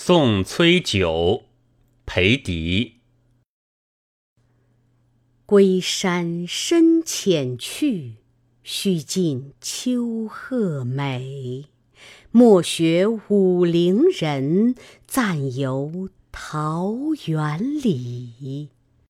送崔九，裴迪。 归山深浅去，须尽秋壑美。莫学武陵人，暂游桃源里。